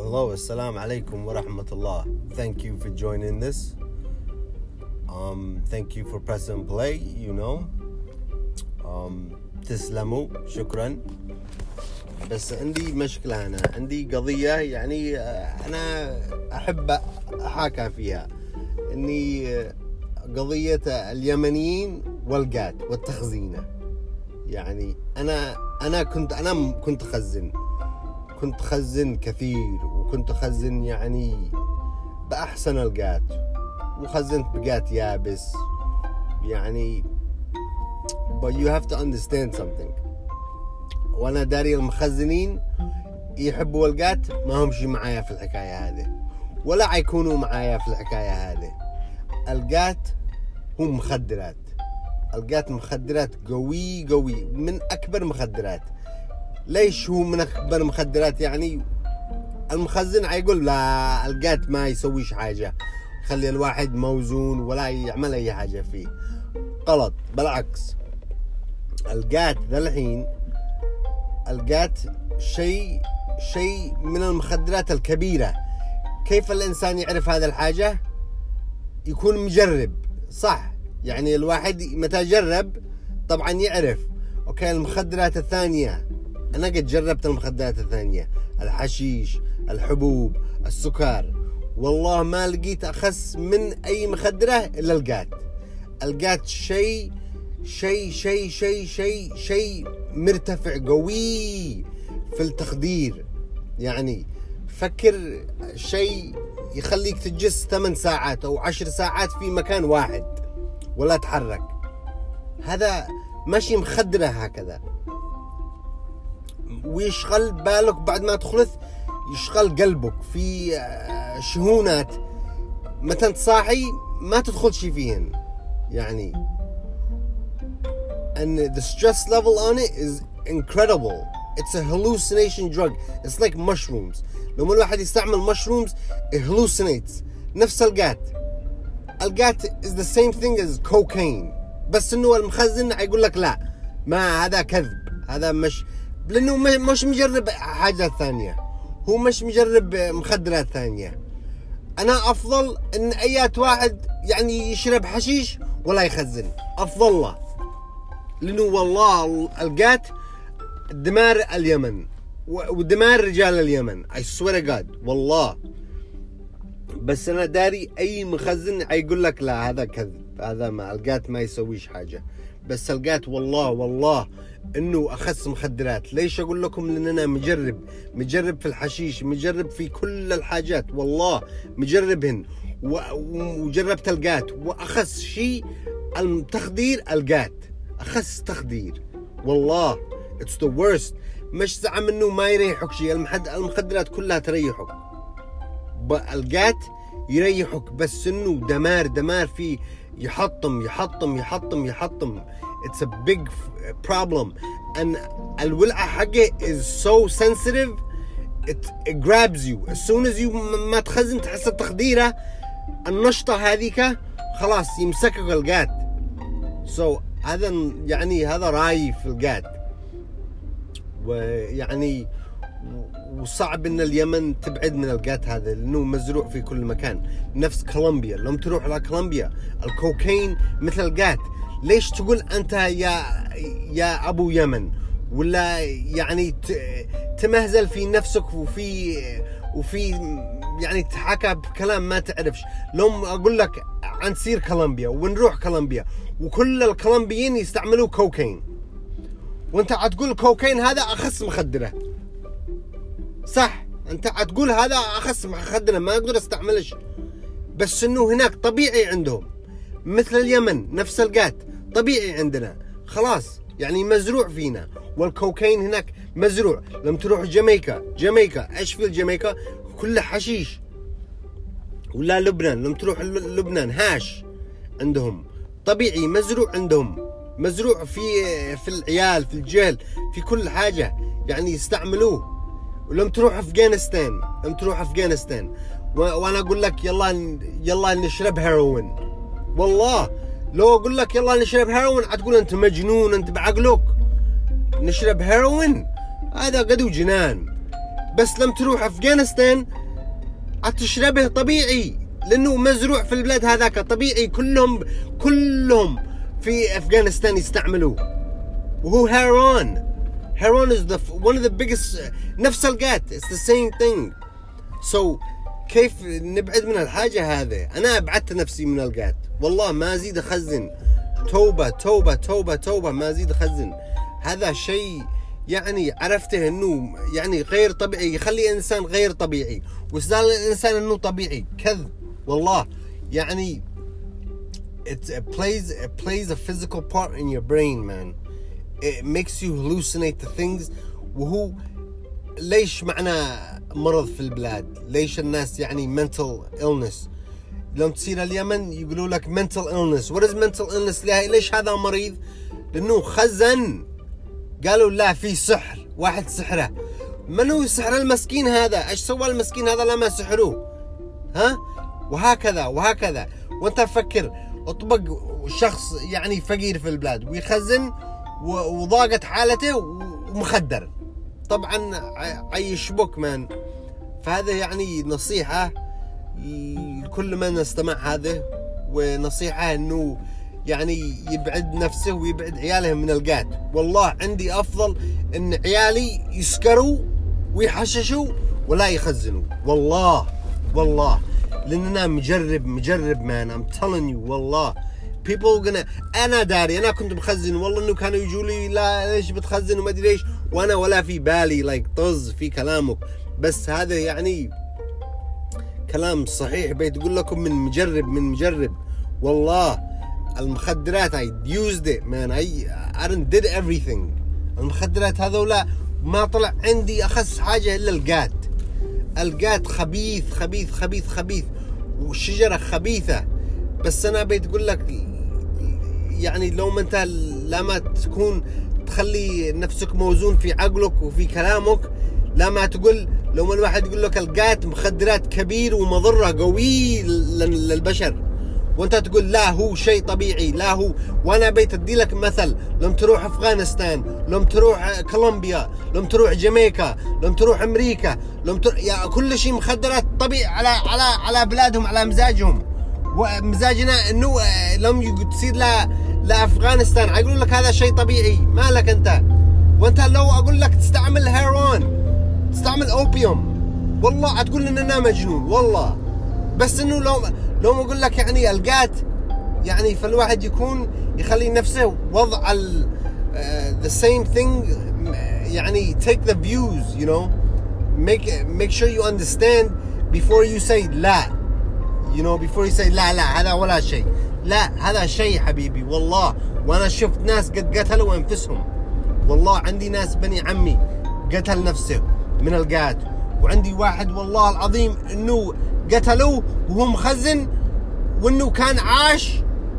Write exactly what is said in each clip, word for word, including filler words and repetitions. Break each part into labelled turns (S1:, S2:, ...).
S1: Hello, assalamu alaikum wa rahmatullah. Thank you for joining this. Um, thank you for pressing play, you know. Um, تسلموا, شكرا. بس عندي مشكلة أنا, عندي قضية يعني أنا أحب أحاكى فيها, إني قضية اليمنيين والقات والتخزينة. يعني أنا أنا كنت أنا كنت أخزن كنت أخزن كثير, وكنت أخزن يعني بأحسن القات, وخزنت بقات يابس يعني. But you have to understand something. وأنا داري المخزنين يحبوا القات ما همشي معايا في الحكاية هذه, ولا حيكونوا معايا في الحكاية هذه. القات هم مخدرات, القات مخدرات قوي قوي, من أكبر مخدرات. ليش هو من أكبر مخدرات؟ يعني المخزن عيقول لا, القات ما يسويش حاجة, خلي الواحد موزون ولا يعمل أي حاجة فيه. غلط, بالعكس. القات ذا الحين, القات شيء شيء من المخدرات الكبيرة. كيف الإنسان يعرف هذا الحاجة؟ يكون مجرب, صح؟ يعني الواحد متى جرب طبعا يعرف. أوكي, المخدرات الثانية أنا قد جربت المخدرات الثانية, الحشيش, الحبوب, السكر, والله ما لقيت أخس من أي مخدرة إلا القات. القات شيء شيء شيء شيء شيء شيء مرتفع قوي في التخدير. يعني فكر شيء يخليك تجلس ثمان ساعات أو عشر ساعات في مكان واحد ولا تحرك. هذا ماشي مخدرة هكذا, ويشغل بالك بعد ما تخلص, يشغل قلبك في شهونات متى تصاحي ما تدخل شي فيهن. يعني and the stress level on it is incredible. It's a hallucination drug. It's like mushrooms. لما الواحد يستعمل mushrooms it hallucinates. نفس القات. القات is the same thing as cocaine, بس انه المخزن يقول لك لا, ما هذا كذب, هذا مش, لانه مش مجرب حاجة ثانية, هو مش مجرب مخدرات ثانية. انا افضل ان ايات واحد يعني يشرب حشيش ولا يخزن, افضل له, لانه والله القات دمار اليمن ودمار رجال اليمن. I swear to God, والله. بس انا داري اي مخزن يقول لك لا, هذا كذب, هذا ما القات ما يسويش حاجة. بس القات والله والله انه اخس مخدرات. ليش اقول لكم؟ لان انا مجرب مجرب في الحشيش, مجرب في كل الحاجات, والله مجربهن, وجربت القات. واخس شيء التخدير, القات اخس تخدير والله. it's the worst. مش زعم انه ما يريحك شيء, المخدرات كلها تريحك, القات يريحك, بس انه دمار دمار فيه, يحطم يحطم يحطم يحطم. It's a big problem. And الولعة حقه is so sensitive, it, it grabs you as soon as you ما تخزن تحس التخديرة النشطة هذيك خلاص يمسكك القات. so هذا يعني هذا رأيي في القات. ويعني وصعب ان اليمن تبعد من القات هذا, لانه مزروع في كل مكان. نفس كولومبيا, لما تروح على كولومبيا الكوكايين مثل القات. ليش تقول انت يا يا ابو يمن, ولا يعني تمهزل في نفسك وفي وفي يعني تحكى بكلام ما تعرفش؟ لو اقول لك عن سير كولومبيا ونروح كولومبيا وكل الكولومبيين يستعملوا كوكايين, وانت هتقول الكوكايين هذا اخس مخدره, صح؟ انت هتقول هذا اخس مخدره ما اقدر استعملش, بس انه هناك طبيعي عندهم. مثل اليمن نفس القات طبيعي عندنا, خلاص يعني مزروع فينا. والكوكايين هناك مزروع. لما تروح جامايكا, جامايكا ايش في الجامايكا؟ كله حشيش. ولا لبنان, لما تروح لبنان هاش عندهم طبيعي, مزروع عندهم, مزروع في في العيال, في الجهل, في كل حاجة يعني يستعملوه. ولما تروح افغانستان, لما تروح افغانستان وانا اقول لك يلا يلا نشرب هيروين, والله لو اقول لك يلا نشرب هيروين هتقول انت مجنون, انت بعقلك. نشرب هيروين هذا قدو جنان. بس لما تروح أفغانستان هتشربه طبيعي لأنه مزروع في البلاد هذاك طبيعي. كلهم كلهم في أفغانستان يستعملوه وهو هيرون. هيرون is the one of the biggest. نفس القات it's the same thing. so كيف نبعد من الحاجة هذه؟ أنا أبعدت نفسي من القات والله ما أزيد أخزن. توبة توبة توبة توبة ما أزيد أخزن. هذا شيء يعني عرفته إنه يعني غير طبيعي، يخلي إنسان غير طبيعي، وإستدلال الإنسان إنه طبيعي كذب والله. يعني it, it plays it plays a physical part in your brain man. It makes you hallucinate the things. وهو ليش معنا مرض في البلاد؟ ليش الناس يعني mental illness؟ لما تصير اليمن يقولوا لك mental illness. what is mental illness؟ ليش هذا مريض؟ لأنه خزن. قالوا لا في سحر، واحد سحره. من هو سحر المسكين هذا؟ ايش سوى المسكين هذا لما سحروه؟ ها؟ وهكذا وهكذا. وانت فكر اطبق شخص يعني فقير في البلاد ويخزن وضاقت حالته ومخدر، طبعا عيشبك مان. فهذا يعني نصيحة لكل من استمع هذا، ونصيحة انه يعني يبعد نفسه ويبعد عياله من القات. والله عندي افضل ان عيالي يسكروا ويحششوا ولا يخزنوا والله والله، لاننا مجرب مجرب مان. I'm telling you والله people gonna. انا داري انا كنت بخزن والله انه كانوا يجوا لي لا ليش بتخزن وما ادري ليش، وانا ولا في بالي لايك طز في كلامك. بس هذا يعني كلام صحيح بيتقول لكم من مجرب من مجرب والله. المخدرات I used it man. I I did everything. المخدرات هذولا ما طلع عندي أخس حاجة إلا القات. القات خبيث خبيث خبيث خبيث والشجرة خبيثة. بس أنا بيتقول لك يعني لو ما أنت لما تكون تخلي نفسك موزون في عقلك وفي كلامك، لما تقول لو ما الواحد يقول لك القات مخدرات كبير ومضرة قوي للبشر، وانت تقول لا هو شيء طبيعي لا هو. وانا بيت ادي لك مثل، لما تروح افغانستان، لما تروح كولومبيا، لما تروح جامايكا، لما تروح امريكا، لما تروح يا كل شيء مخدرات طبيعي على على على بلادهم على مزاجهم. ومزاجنا انه لما تصير لا لافغانستان يقولون لك هذا شيء طبيعي. مالك انت؟ وانت لو اقول لك تستعمل هيرون تستعمل اوبيوم والله هتقول ان انا مجنون والله. بس انه لو لو ما اقول لك يعني القات يعني فالواحد يكون يخلي نفسه وضع ال uh, the same thing يعني take the views you know make make sure you understand before you say لا you know before you say لا لا هذا ولا شيء. لا هذا شيء حبيبي والله. وانا شفت ناس قد قتلوا انفسهم والله. عندي ناس بني عمي قتل نفسه من القات، وعندي واحد والله العظيم انه قتلوه وهو مخزن وانه كان عاش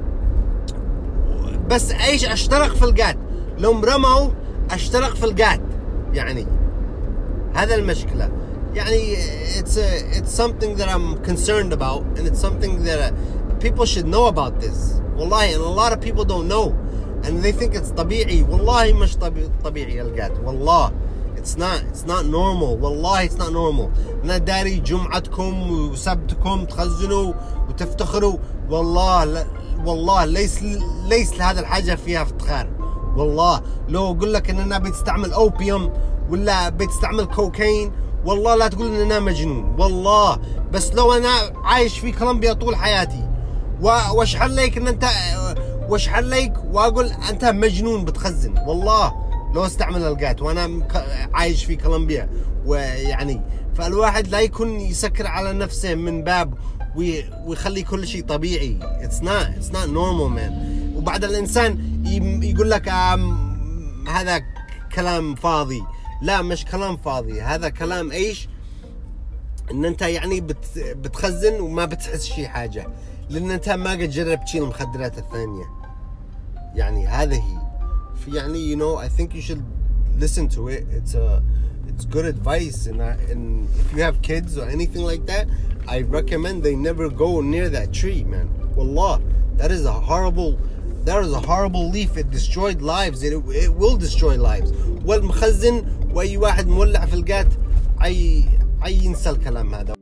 S1: بس ايش اشترك في القات. لو مرموا اشترك في القات. يعني هذا المشكلة. يعني it's a, it's something that I'm concerned about and it's something that people should know about this والله. and a lot of people don't know and they think it's طبيعي. والله مش طبيعي القات والله. It's not it's not normal والله. It's not normal. أنا داري جمعتكم وسبتكم تخزنوا وتفتخروا والله لا والله ليس ليس لهذا الحاجة فيها افتخار والله. لو أقول لك إن أنا بتستعمل أوبيوم ولا بتستعمل كوكايين والله لا تقول إن أنا مجنون والله. بس لو أنا عايش في كولومبيا طول حياتي واشحن لك إن أنت واشحن لك وأقول أنت مجنون بتخزن والله لو استعمل القات وانا عايش في كولومبيا. ويعني فالواحد لا يكون يسكر على نفسه من باب ويخلي كل شيء طبيعي. it's not it's not normal man. وبعد الانسان يقول لك هذا كلام فاضي. لا مش كلام فاضي، هذا كلام ايش ان انت يعني بت بتخزن وما بتحس شي حاجة لان انت ما قد جربت تشيل المخدرات الثانية. يعني هذا هي يعني you know I think you should listen to it. It's a it's good advice and I, and if you have kids or anything like that I recommend they never go near that tree man. Wallah that is a horrible that is a horrible leaf. It destroyed lives. It, it will destroy lives. والمخزن واي واحد مولع في القات اي اي ينسى الكلام هذا.